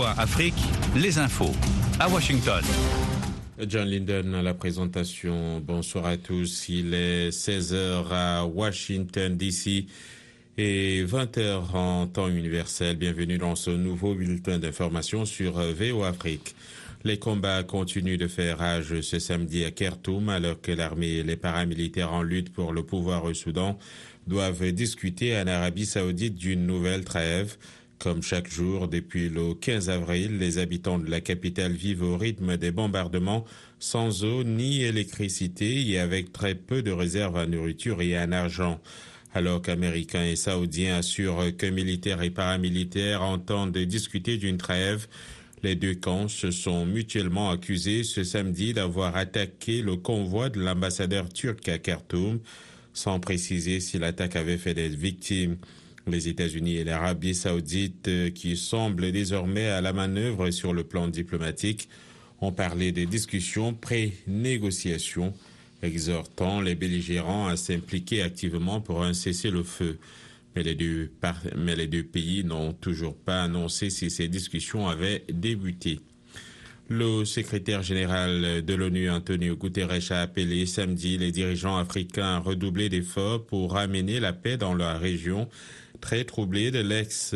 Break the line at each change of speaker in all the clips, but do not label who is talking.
VOA Afrique, les infos à Washington.
John Linden à la présentation. Bonsoir à tous. Il est 16h à Washington, D.C. et 20h en temps universel. Bienvenue dans ce nouveau bulletin d'information sur VOA Afrique. Les combats continuent de faire rage ce samedi à Khartoum alors que l'armée et les paramilitaires en lutte pour le pouvoir au Soudan doivent discuter en Arabie Saoudite d'une nouvelle trêve. Comme chaque jour, depuis le 15 avril, les habitants de la capitale vivent au rythme des bombardements, sans eau ni électricité et avec très peu de réserves en nourriture et en argent. Alors qu'Américains et Saoudiens assurent que militaires et paramilitaires entendent discuter d'une trêve, les deux camps se sont mutuellement accusés ce samedi d'avoir attaqué le convoi de l'ambassadeur turc à Khartoum, sans préciser si l'attaque avait fait des victimes. Les États-Unis et l'Arabie saoudite, qui semblent désormais à la manœuvre sur le plan diplomatique, ont parlé des discussions pré-négociations, exhortant les belligérants à s'impliquer activement pour un cessez-le-feu. Mais les deux pays n'ont toujours pas annoncé si ces discussions avaient débuté. Le secrétaire général de l'ONU, Antonio Guterres, a appelé samedi les dirigeants africains à redoubler d'efforts pour ramener la paix dans la région très troublée de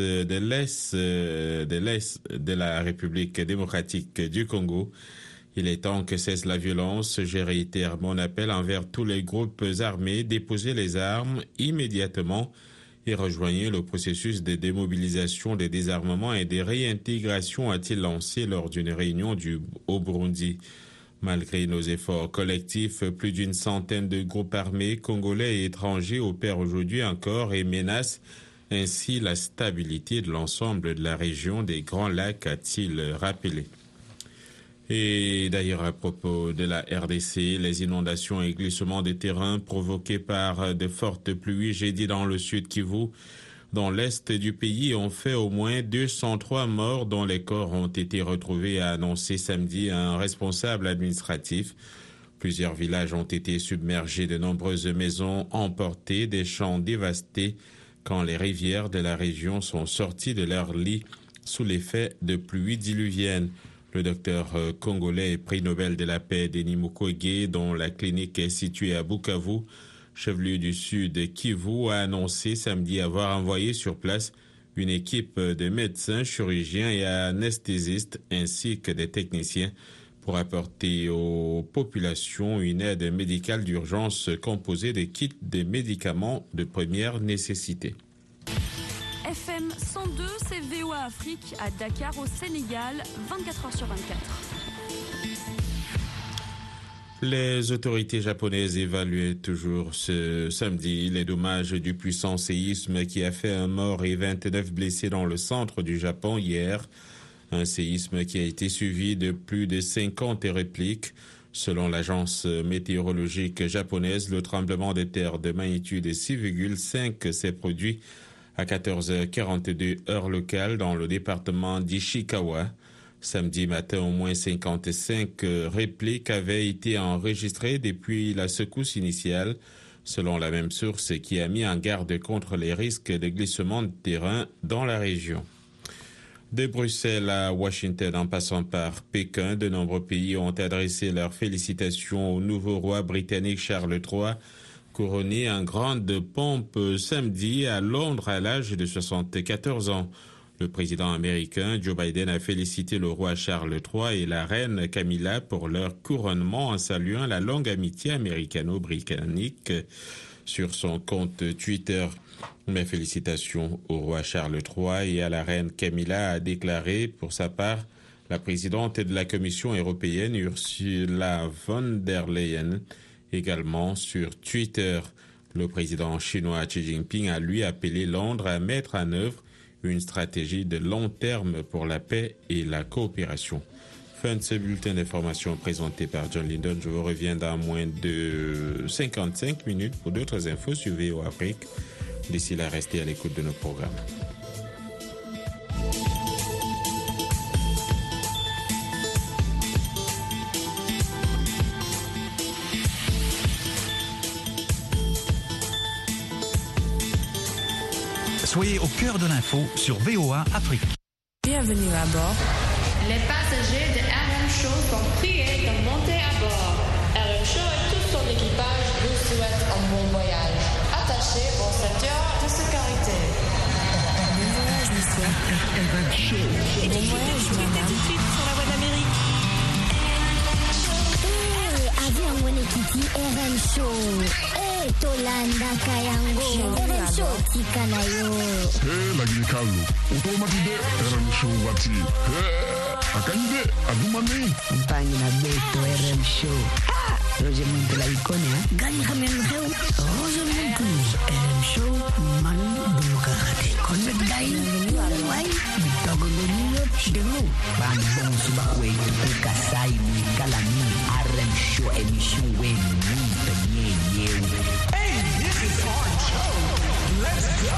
la République démocratique du Congo. Il est temps que cesse la violence. Je réitère mon appel envers tous les groupes armés, déposez les armes immédiatement et rejoignez le processus de démobilisation, de désarmement et de réintégration, a-t-il lancé lors d'une réunion au Burundi. Malgré nos efforts collectifs, plus d'une centaine de groupes armés congolais et étrangers opèrent aujourd'hui encore et menacent ainsi la stabilité de l'ensemble de la région des Grands Lacs, a-t-il rappelé. Et d'ailleurs, à propos de la RDC, les inondations et glissements de terrain provoqués par de fortes pluies jeudi dans le sud Kivu, dans l'est du pays, ont fait au moins 203 morts dont les corps ont été retrouvés, a annoncé samedi un responsable administratif. Plusieurs villages ont été submergés, de nombreuses maisons emportées, des champs dévastés, quand les rivières de la région sont sorties de leur lit sous l'effet de pluies diluviennes. Le docteur congolais et prix Nobel de la paix Denis Mukwege, dont la clinique est située à Bukavu, chef-lieu du sud Kivu, a annoncé samedi avoir envoyé sur place une équipe de médecins, chirurgiens et anesthésistes ainsi que des techniciens pour apporter aux populations une aide médicale d'urgence composée de kits de médicaments de première nécessité.
FM 102, c'est VOA Afrique à Dakar au Sénégal, 24h sur 24.
Les autorités japonaises évaluaient toujours ce samedi les dommages du puissant séisme qui a fait un mort et 29 blessés dans le centre du Japon hier. Un séisme qui a été suivi de plus de 50 répliques. Selon l'agence météorologique japonaise, le tremblement de terre de magnitude 6,5 s'est produit à 14h42 heure locale dans le département d'Ishikawa. Samedi matin, au moins 55 répliques avaient été enregistrées depuis la secousse initiale, selon la même source qui a mis en garde contre les risques de glissement de terrain dans la région. De Bruxelles à Washington, en passant par Pékin, de nombreux pays ont adressé leurs félicitations au nouveau roi britannique Charles III, couronné en grande pompe samedi à Londres à l'âge de 74 ans. Le président américain Joe Biden a félicité le roi Charles III et la reine Camilla pour leur couronnement en saluant la longue amitié américano-britannique sur son compte Twitter. Mes félicitations au roi Charles III et à la reine Camilla, a déclaré pour sa part la présidente de la Commission européenne Ursula von der Leyen. Également sur Twitter, le président chinois Xi Jinping a lui appelé Londres à mettre en œuvre une stratégie de long terme pour la paix et la coopération. Fin de ce bulletin d'information présenté par John Linden. Je vous reviens dans moins de 55 minutes pour d'autres infos sur VOA Afrique. D'ici là, restez à l'écoute de nos programmes.
Soyez au cœur de l'info sur VOA Afrique.
Bienvenue à bord.
Les passagers de RM Show sont priés de monter à bord. RM Show et tout son équipage vous souhaitent un bon voyage. Attachez vos ceintures de sécurité.
Bon voyage, monsieur.
RM Show.
Bon voyage, madame.
Tout de suite sur la voie d'Amérique.
Avion Wenekiti RM Show. Tolanda Kayango. RM Show Tikanayo.
Lagi kalu. Utomatide RM Show wati. Akande adumani.
Mpangi na beto RM Show. Roger Muntu la ikonia.
Gani kamenreu.
Roger Muntu. RM Show manu dumukakate. Konbet dai. Wai. Bitagoloniyo. Demu. Bambong subakwe. Kasai Kalami. RM Show émission Wenni.
Hey, this is RM Show. Let's go.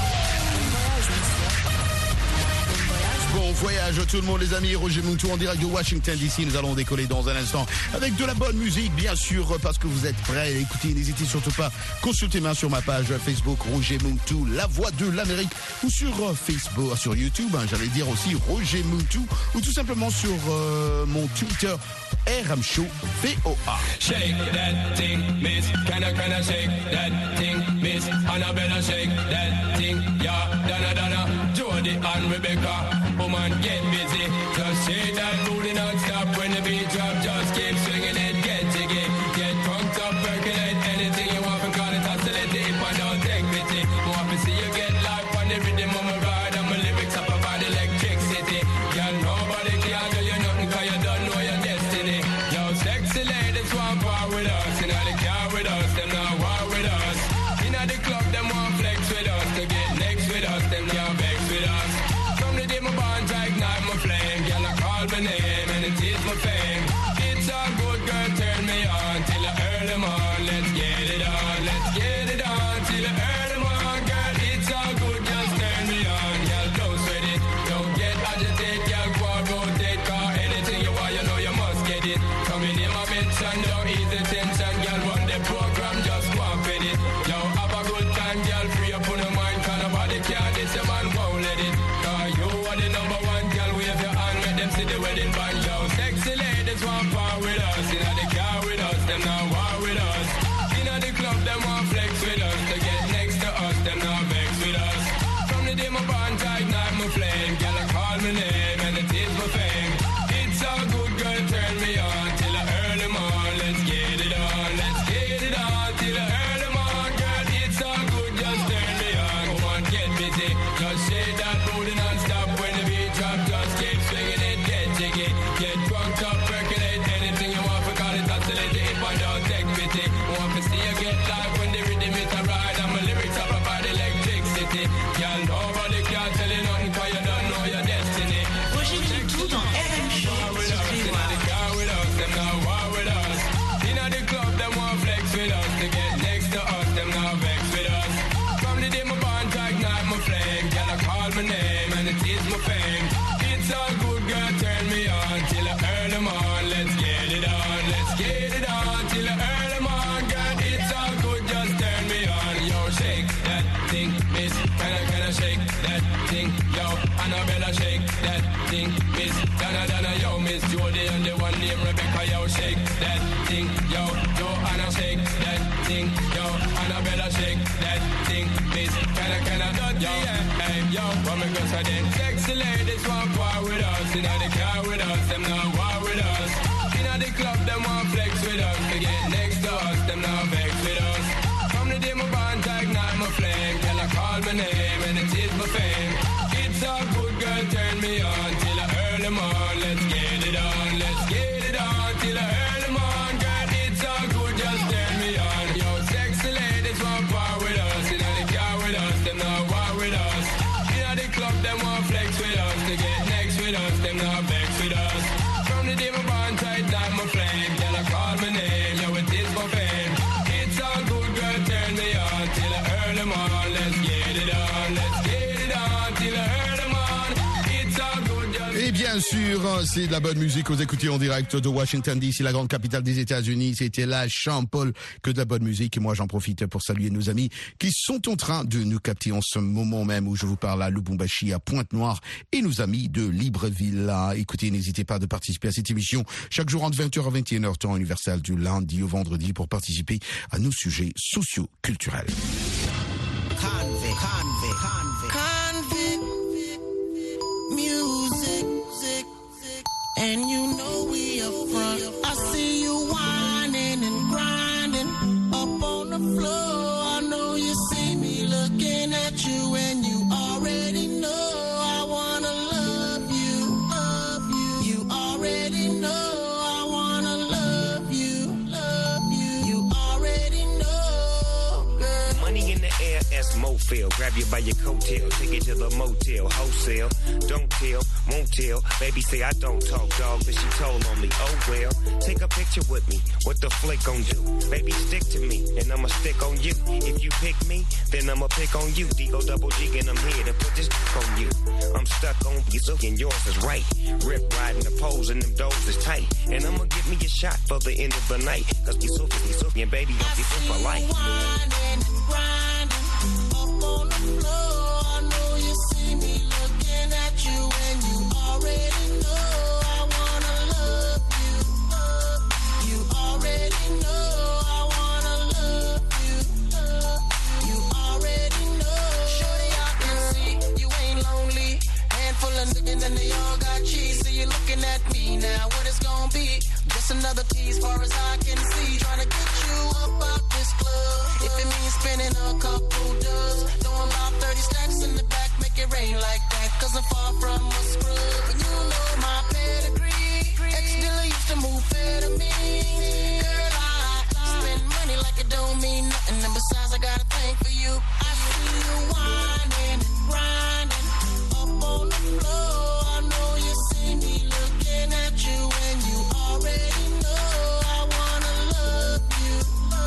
Bon voyage tout le monde les amis, Roger Muntu en direct de Washington DC. Nous allons décoller dans un instant avec de la bonne musique bien sûr parce que vous êtes prêts. Écoutez, n'hésitez surtout pas, consultez-moi sur ma page Facebook Roger Muntu, la voix de l'Amérique, ou sur Facebook, sur YouTube, j'allais dire aussi Roger Muntu, ou tout simplement sur mon Twitter RM Show VOA.
Shake that thing, miss. Can I shake that thing, miss? Annabella shake that thing, yeah. Donna, Jody and Rebecca. Woman, get busy. Just shake that booty non-stop. When the beat drop, just keep swinging it. Get jiggy, get drunk up, percolate. Anything you want, call it oscillate. If I don't take pity, want to see you get life on the rhythm of my ride. And my lyrics up about electricity. Girl, nobody can do you nothing, cause you don't know your destiny. Yo, sexy ladies want war with us. You know they care with us, them not war with us. You know the club, them want flex with us. To get next with us, them can't vex with us. From the day my bonds ignite my flame. Girl, I call my name and it is my fame. It's all good, girl, turn me on till I earn them on. Let's get it on, let's get it on till I earn them on. Girl, it's all good, just turn me on. Girl, don't sweat it, don't get agitated. Girl, go on, rotate, cause anything you want, you know you must get it. Come in my mention, don't ease the tension. Girl, run the program, just go and fit it. Yo, have a good time, girl, free up on the mind. Cause nobody can, this your man won't let it. Cause you are the number one, girl, wave your hand, make them see the wedding band. Yo, sexy ladies want power with us. You know they car with us, them not war with us. You know the club, them want flex with us. To get next to us, them not vex with us. From the day my bond ignite my flame. Girl, I call my name and it is my fame. It's all good, girl, turn me on till I earn them on. Let's get it on, let's get it on till I earn them on. Girl, it's all good, just turn me on. Come on, get busy, just shake that booty non-stop. When the beat drop, just keep swinging it, get jiggy, get drunk up, percolate. Anything you want, for call it oscillate. If I don't take pity, want to see you get live when the rhythm is a ride. And my lyrics up about electricity. Girl, nobody can tell you nothing, cause you don't know your destiny.
Roger Muntu dans RM Show.
With us, you know they car with us, them not war with us. You know the club, them want flex with us. To get next to us, them not vex with us. From the day my bond ignite my flame. Girl, I call my name and it is my fame. It's all good, girl, turn me on till I earn them on. Let's get it on, let's get it on till I earn them on. Girl, it's all good, just turn me on. Yo, shake that thing, miss. Can I shake that thing? Yo, Annabella, shake that thing, miss. Donna, yo, miss Jody and the one named Rebecca. Yo, shake that thing, yo. Joanna, shake that thing, yo. Annabella, shake that thing, miss. Can I, yo, hey, yo, what me go say then? Sexy ladies want war with us. You know they car with us, them not war with us. You know the club, them want flex with us. To get next to us, them not vex with us. From the day my bond ignite my flame. Girl, I call my name and it is my fame. It's all good, girl, turn me on till I earn them on. Let's get it on, let's get it on till I earn them on. Girl, it's all good, just turn me on. Yo, sexy ladies want power with us. You know they car with us, them not war with us. You know the club, them want flex with us. To get next with us, them not vex with us. From the day my bond tight down my flame. Girl, I call my name, yo, it is my fame. It's all good, girl, turn me on till I earn them on. Let's get it on, let's get it on till I earn them on. It's all good, just...
Eh bien Bien sûr, c'est de la bonne musique. Vous écoutez en direct de Washington DC, la grande capitale des États-Unis. C'était la Champ-Paul, que de la bonne musique. Et moi, j'en profite pour saluer nos amis qui sont en train de nous capter en ce moment même où je vous parle à Lubumbashi, à Pointe-Noire, et nos amis de Libreville. Écoutez, n'hésitez pas de participer à cette émission chaque jour entre 20h à 21h, temps universel, du lundi au vendredi, pour participer à nos sujets socio-culturels.
Music, and you know we up front. I see you whining and grinding up on the floor. I know you see me looking at you, and you already know I wanna love you. You already know I wanna love you. You already know, girl.
Money in the air, as Mofil. Grab you by your coattail, take it to the motel, wholesale. Don't tell, won't tell. Baby say I don't talk, dog, but she told on me. Oh well, take a picture with me. What the flick gon' do? Baby, stick to me, and I'ma stick on you. If you pick me, then I'ma pick on you. D-O double G, and I'm here to put this on you. I'm stuck on you, and yours is right. Rip riding the poles, and them doors is tight. And I'ma give me a shot for the end of the night. Cause we so, and baby, don't be so for life.
Whining and grinding up on the floor. I know you see me looking at you, and you already know I wanna love you. You already know I wanna love you. You already know. Shorty, I can see you ain't lonely. Handful of niggas and they all got cheese. So you're looking at me now. What it's gonna be? Just another tease, far as I can see. Trying to get you up out this club. If it means spending a couple dubs, throwing about 30 stacks in the back, make it rain like that. Cause I'm far from a scrub. And you know my pedigree. Ex-dealer used to move fair to me. Girl, I spend money like it don't mean nothing. And besides, I got a thing for you. I see you whining and grinding up on the floor. I know you see me looking at you, and you already know I wanna love you.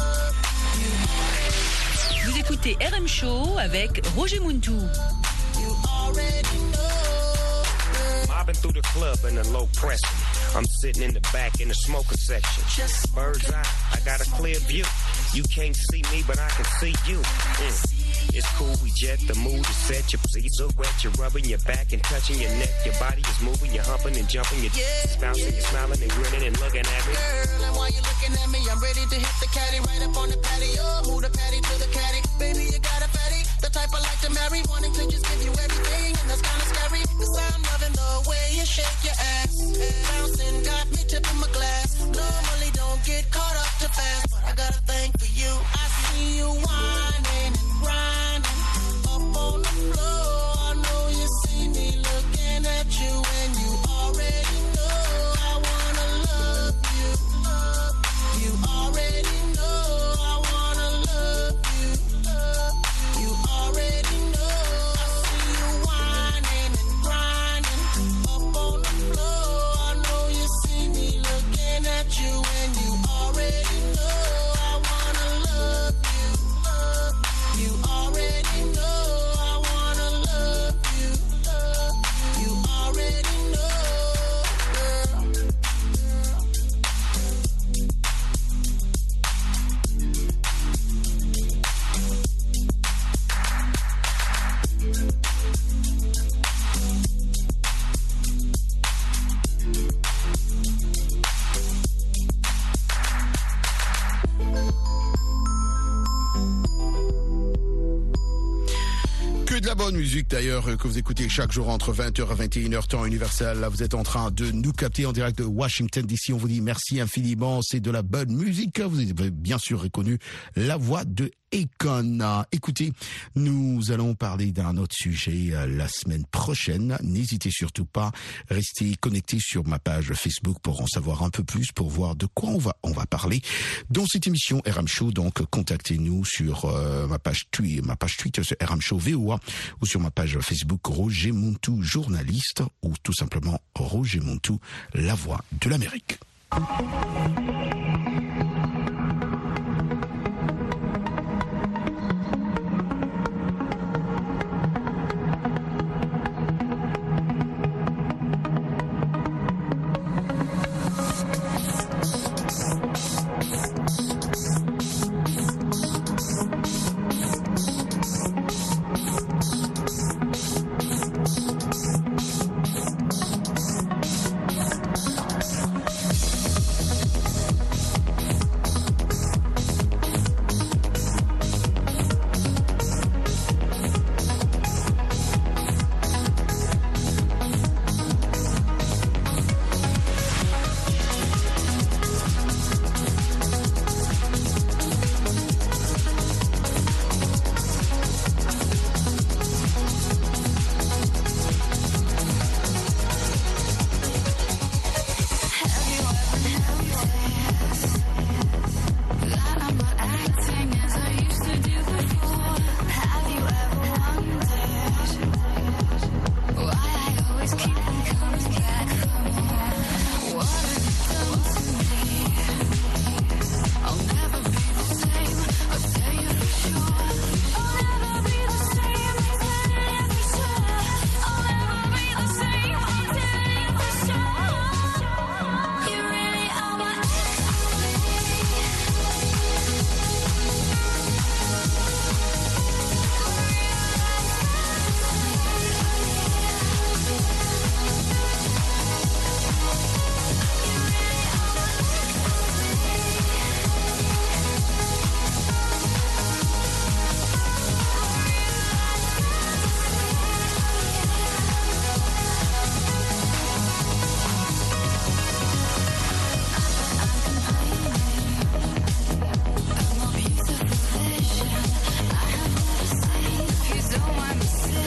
Vous écoutez RM Show avec Roger Muntu.
You already know.
Mobbing through the club in a low press. I'm sitting in the back in the smoker section. Bird's eye, I got a clear view. You can't see me, but I can see you. It's cool, we jet, the mood is set. Your seats are wet, you're rubbing your back and touching your neck. Your body is moving, you're humping and jumping. You're bouncing, you're smiling and grinning and looking at me.
Girl, and while you're looking at me, I'm ready to hit the caddy right up on the patio. Move the patty to the caddy. Baby, you got a fatty, the type I like to marry. Wanting to just give you everything, and that's kinda scary. Cause I'm loving the way you shake your ass. Bouncing got me tipping my glass. Normally don't get caught up too fast, but I got a thing for you. I see you whining and grinding up on the floor. I know you see me looking at you, and you already know I wanna love you. You already know I wanna love you. You already know. I see you whining and grinding up on the floor. I know you see me looking at you, and you already know I wanna love you. You already know I wanna love you. You already know, girl.
Que de la bonne musique d'ailleurs que vous écoutez chaque jour entre 20h à 21h temps universel. Là, vous êtes en train de nous capter en direct de Washington DC. On vous dit merci infiniment. C'est de la bonne musique. Vous avez bien sûr reconnu la voix de Akon. Écoutez, nous allons parler d'un autre sujet la semaine prochaine. N'hésitez surtout pas, restez connectés sur ma page Facebook pour en savoir un peu plus, pour voir de quoi on va parler dans cette émission RM Show. Donc, contactez-nous sur ma page Twitter sur RM Show VOA ou sur ma page Facebook Roger Muntu journaliste ou tout simplement Roger Muntu, la voix de l'Amérique.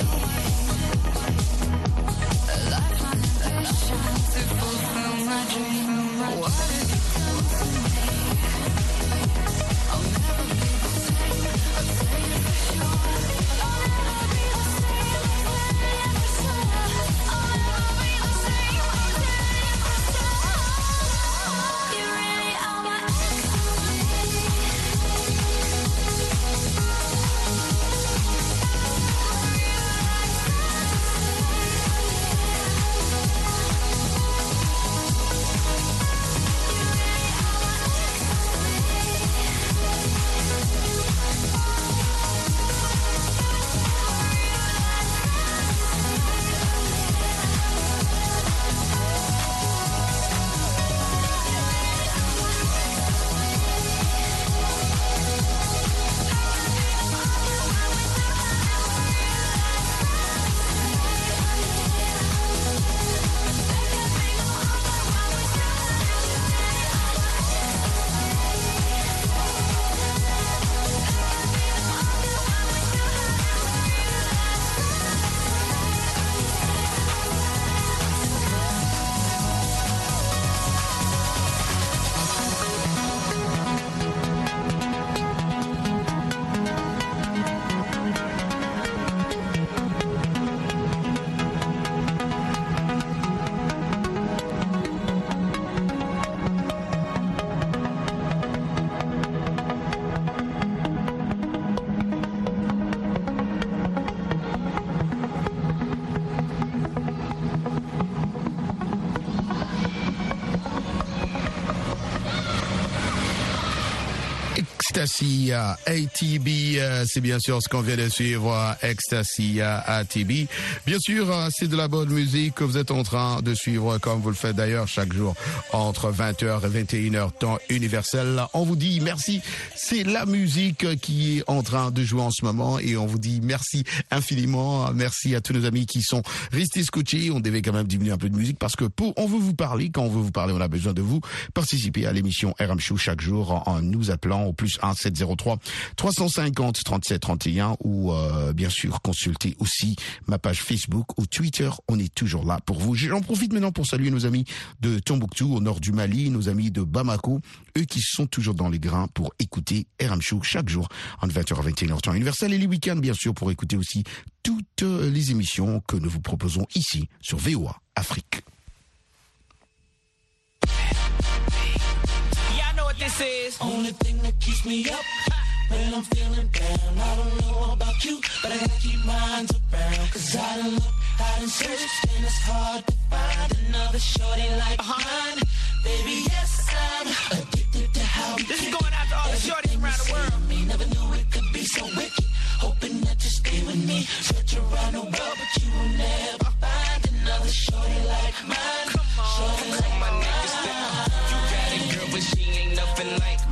Ecstasy ATB, c'est bien sûr ce qu'on vient de suivre, Ecstasy ATB. Bien sûr, c'est de la bonne musique que vous êtes en train de suivre, comme vous le faites d'ailleurs chaque jour entre 20h et 21h, temps universel. On vous dit merci, c'est la musique qui est en train de jouer en ce moment et on vous dit merci infiniment. Merci à tous nos amis qui sont restés scotchés. On devait quand même diminuer un peu de musique parce que on veut vous parler. Quand on veut vous parler, on a besoin de vous. Participer à l'émission RM Show chaque jour en nous appelant au plus 1 703 350 37 31 ou bien sûr consulter aussi ma page Facebook ou Twitter. On est toujours là pour vous. J'en profite maintenant pour saluer nos amis de Tombouctou au nord du Mali, nos amis de Bamako, eux qui sont toujours dans les grains pour écouter RM Show chaque jour entre 20h à 21h temps universel et les week-ends bien sûr pour écouter aussi toutes les émissions que nous vous proposons ici sur VOA Afrique.
This is only thing that keeps me up when I'm feeling down. I don't know about you, but I gotta keep mine around. Cause I done look, I done searched, and it's hard to find another shorty like mine. Baby, yes, I'm addicted to how we this is going out to all the shorties around the world. Me never knew it could be so wicked. Hoping that you stay with me. Search around the world, but you will never find another shorty like mine. Come on, shorty like my niggas down. You got it, girl, but she ain't nothing like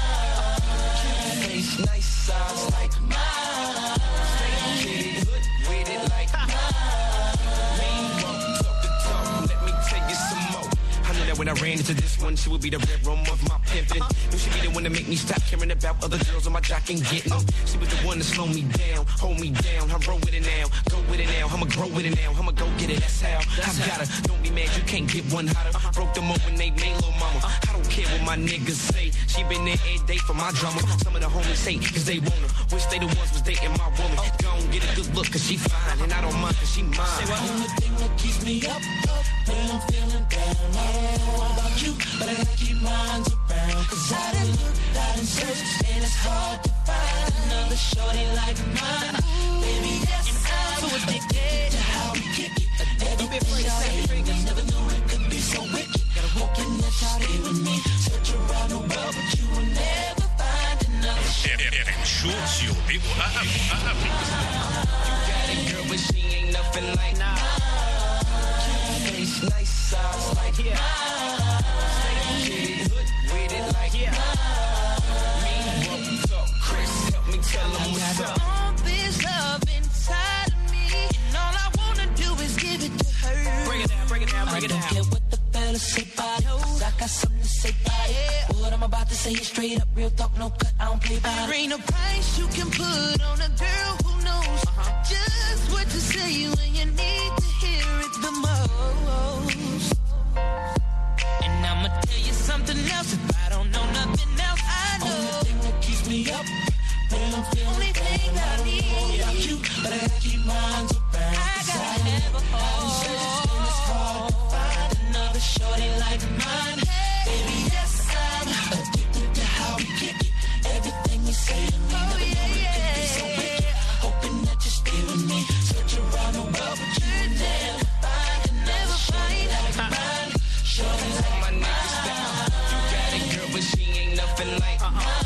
mine. Face nice, size like mine. Straight with it, hood with it like mine. We ain't won't talk the talk. Let me tell you some more. I knew that when I ran into this one, she would be the red room of my pimpin'. Knew she'd be the one to make me stop caring about other girls on my jock and getting them. She was the one to slow me down, hold me down. I roll with it now, go with it now. I'ma grow with it now, I'ma go get it. That's how I gotta. Don't be mad, you can't get one hotter. Broke them up when they made little mama. I don't care what my niggas say. She been there every day for my drama. Some of the homies hate cause they want her. Wish they the ones was dating my woman. Go and get a good look cause she fine and I don't mind cause she mine. The only thing that keeps me up when I'm feeling down. I don't know about you, but I gotta keep mine around. Cause I done look, I done searched, and it's hard to find another shorty like mine. Baby, yes, I'm so addicted to how we kick it. Everything I never knew it could be so wicked. Hoping that y'all stay with me. Search around the world, but you will never find another shorty.
RM Show sur VOA Afrique.
You got it, girl, but she ain't nothing like mine. Face nice, size like mine. Straight with it, hood with it like mine. Me won't talk, Chris, help me tell them what's up. All this love inside of me, and all I wanna do is give it to her. Bring it down, bring it down, bring it down. I don't care what the fellas say about it, cause I got something to say about it. What I'm about to say is straight up, real talk, no cut, I don't play about it. There ain't no price you can put on a girl who knows just what to say. tell you when you need to hear it the most. And I'ma tell you something else. If I don't know nothing else, I know. Only thing that keeps me up when I'm feeling only thing I need. Yeah, I'm cute, but I gotta keep mine around. I gotta have a home. It's hard to find another shorty like mine. Baby, yes, I'm addicted to how we kick it. Everything you say to me, never know it could be so wicked. Hoping that you're still with me. Search around the world, but you would never find another shorty like mine. Shorty like
my niggas down. You got a girl, but she ain't nothing like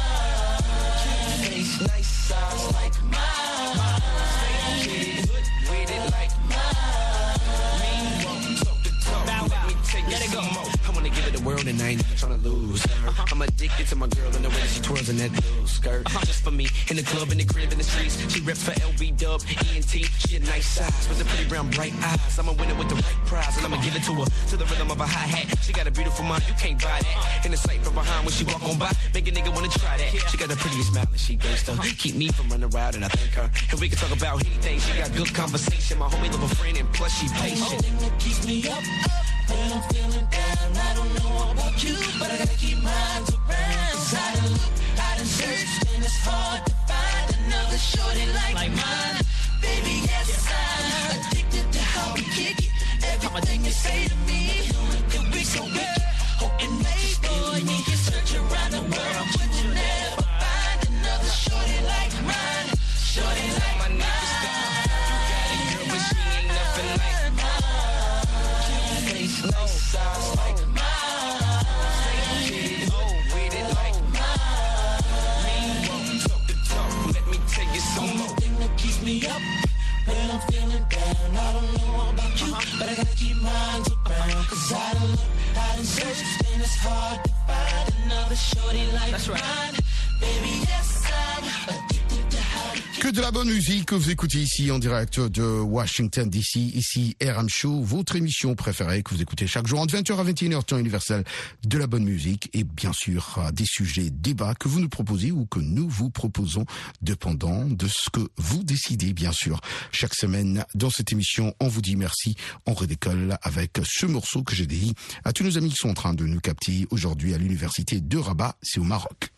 face, nice size like mine. Straight kid, with it like mine. Mean talk the talk. Let me take it some more. I wanna give it the world and I ain't tryna lose her. I'm addicted to my girl and the way that she twirls in that little skirt. Just for me, in the club, in the crib, in the streets. She reps for LB Dub, ENT. She a nice size with the pretty brown bright eyes. I'ma win it with the right prize and I'ma give it to her to the rhythm of a hi-hat. She got a beautiful mind, you can't buy that. In the sight from behind when she walk on by, make a nigga wanna try that. She got the prettiest smile and she gangsta. Keep me from running wild and I thank her. And we can talk about anything. She got good conversation. My homie love a friend and plus she patient.
Only thing that keeps me up when I'm feeling down. I don't know about you, but I gotta keep mine around. Cause I done look, I done searched, and it's hard to find another shorty like mine. Baby, yes, I'm addicted to how we kick it. Everything you say to me, could be so wicked. And maybe you can search around the world, but you never find another shorty like mine. Shorty like
my niggas down. You got a girl, but she ain't nothing like mine. Face, nice size like mine. Straight kid, with it like mine. Mean talk the talk. Let me tell you some more.
Thing that keeps me up when I'm feeling down. I don't know about you, but I gotta keep mine around. Cause I done look, I done searched, and it's hard to find another shorty like mine. Baby, yes, I'm addicted to how we
Que de la bonne musique que vous écoutez ici en direct de Washington DC, ici RM Show, votre émission préférée que vous écoutez chaque jour entre 20h à 21h temps universel, de la bonne musique et bien sûr des sujets, débats que vous nous proposez ou que nous vous proposons dépendant de ce que vous décidez bien sûr. Chaque semaine dans cette émission, on vous dit merci, on redécolle avec ce morceau que j'ai dédié à tous nos amis qui sont en train de nous capter aujourd'hui à l'université de Rabat, c'est au Maroc.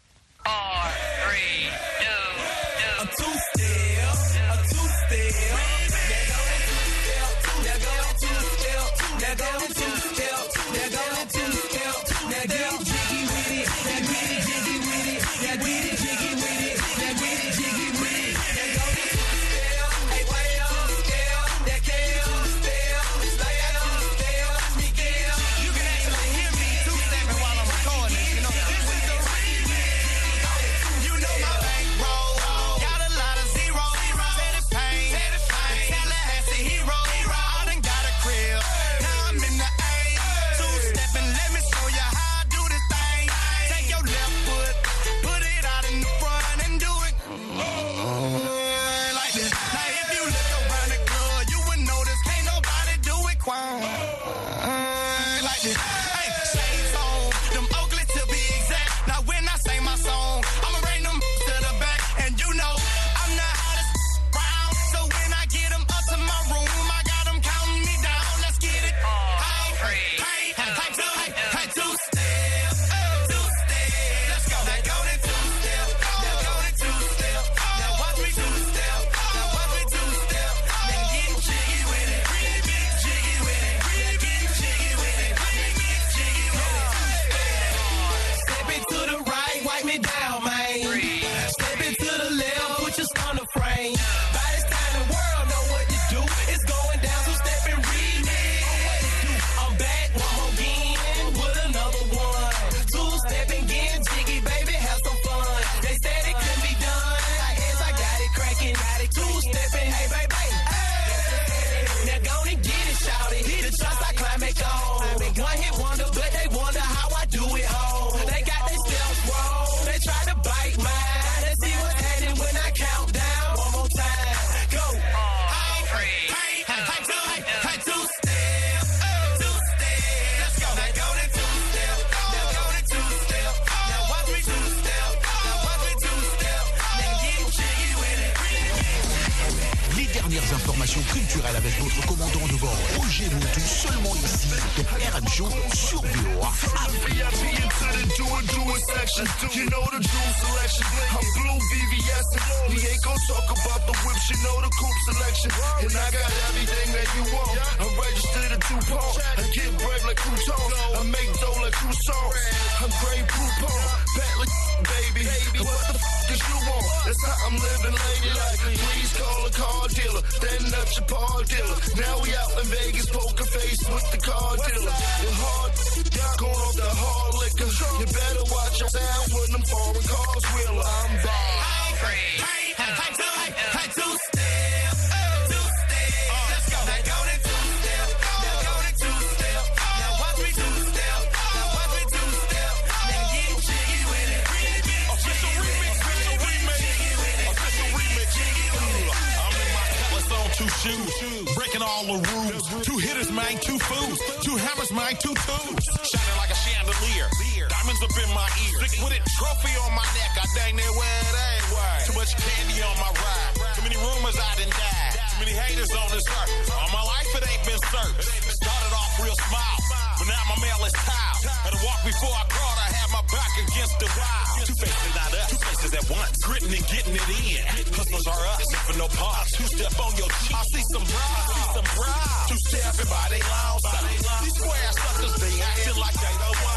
I'm in
culturel avec votre commandant de bord, Roger Moutou, seulement ici, de RM Show sur VOA.
You know the jewel selection. I'm blue VVS. We ain't gon' talk about the whips. You know the coupe selection. And I got everything that you want. I'm registered at DuPont. I get bread like croutons. I make dough like croissants. I'm Grey Poupon. Bentley, baby. And what the f*** is you want? That's how I'm living ladylike. Please call a car dealer. Then up your paw dealer. Now we out in Vegas, poker face with the car dealer. The hard going off the hard liquor. You better watch your sound when them foreign cars wheeler. I'm bald. Hey, two-step. Let's go. Now go to two-step. Now go to two-step. Now watch me two-step. Now watch me two-step. Now get jiggy with it.
Official remix. I'm in my Cutlass on 2 shoes. Breaking all the rules. 2 hitters, man, 2 fools. 2 hammers, man, 2 tubes. Shining like a chandelier. Diamonds up in my ear. Stick with it. Trophy on my neck. I dang near where it ain't. Too much candy on my ride. Too many rumors I done died. Too many haters on this earth. All my life it ain't been searched. Started off real small, but now my mail is tiled. Had to walk before I crawled. I had my back against the wall. 2 faces, not us. 2 faces at once. Gritting and getting it in. Hustlers are us. Never no pause. 2-step on your cheek. I see some bras. 2-step everybody long side. These square suckers, they acting like they don't know.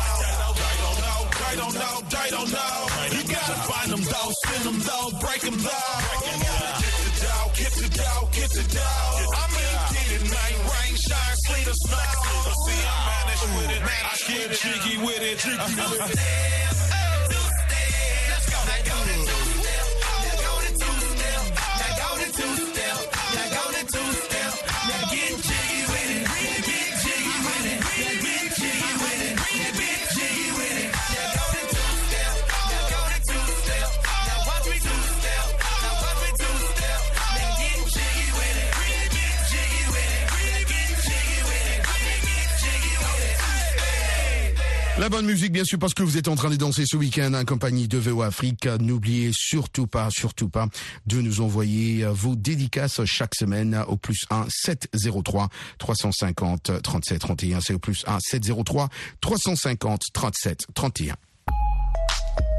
They don't know. You gotta find them though, spin them though, break them though. Get the dough. I mean, get it, man. Rain, shine, sleet or snow. But see, I manage with it, man. I get jiggy with it. Let's go. Now go to two-step. Now go to two-step. Now go to two-step. Now go to two-step. Now get jiggy with it. Get jiggy with it. Get jiggy with it. Get jiggy with it. Now go to two-step. Now go to two-step. Now watch me two-step. Now watch me two-step. Now get jiggy with it. Get jiggy with it. Get jiggy with it. Get jiggy with it.
La bonne musique, bien sûr, parce que vous êtes en train de danser ce week-end en compagnie de VOA Afrique. N'oubliez surtout pas de nous envoyer vos dédicaces chaque semaine au +1 703 350 37 31. C'est au +1 703 350 37 31.